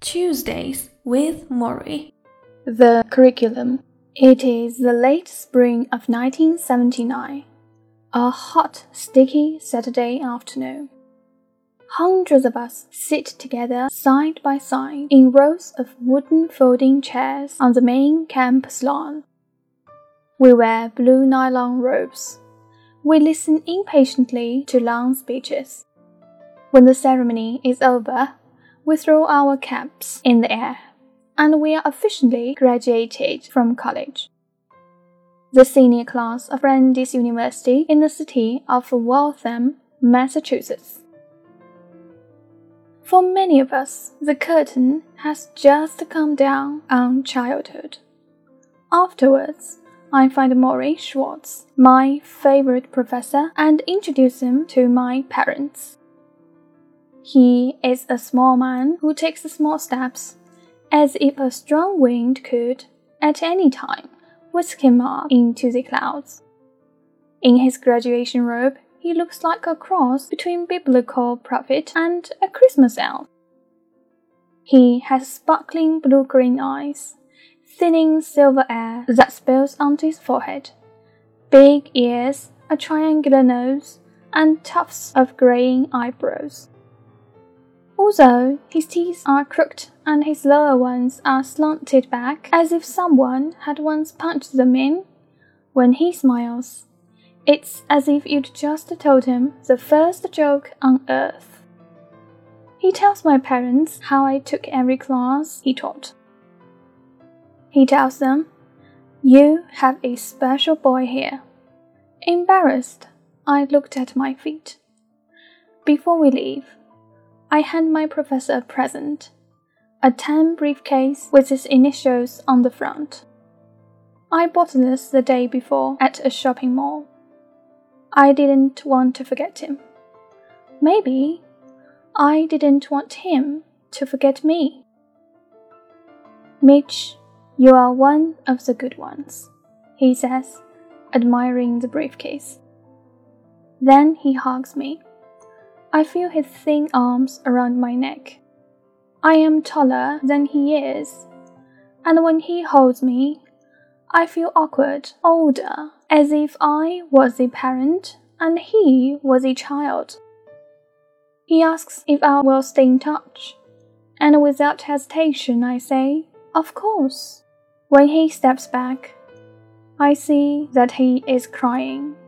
Tuesdays with Maury. The curriculum. It is the late spring of 1979. A hot, sticky Saturday afternoon. Hundreds of us sit together side by side in rows of wooden folding chairs on the main campus lawn. We wear blue nylon robes. We listen impatiently to long speeches. When the ceremony is over, we throw our caps in the air, and we are officially graduated from college. The senior class of Brandeis University in the city of Waltham, Massachusetts. For many of us, the curtain has just come down on childhood. Afterwards, I find Maury Schwartz, my favorite professor, and introduce him to my parents. He is a small man who takes small steps, as if a strong wind could, at any time, whisk him up into the clouds. In his graduation robe, he looks like a cross between biblical prophet and a Christmas elf. He has sparkling blue-green eyes, thinning silver hair that spills onto his forehead, big ears, a triangular nose, and tufts of graying eyebrows. Although his teeth are crooked and his lower ones are slanted back as if someone had once punched them in, when he smiles, it's as if you'd just told him the first joke on earth. He tells my parents how I took every class he taught. He tells them, "You have a special boy here." Embarrassed, I looked at my feet. Before we leave, I hand my professor a present, a tan briefcase with his initials on the front. I bought this the day before at a shopping mall. I didn't want to forget him. Maybe I didn't want him to forget me. "Mitch, you are one of the good ones," he says, admiring the briefcase. Then he hugs me. I feel his thin arms around my neck. I am taller than he is, and when he holds me, I feel awkward, older, as if I was a parent and he was a child. He asks if I will stay in touch, and without hesitation I say, "Of course." When he steps back, I see that he is crying.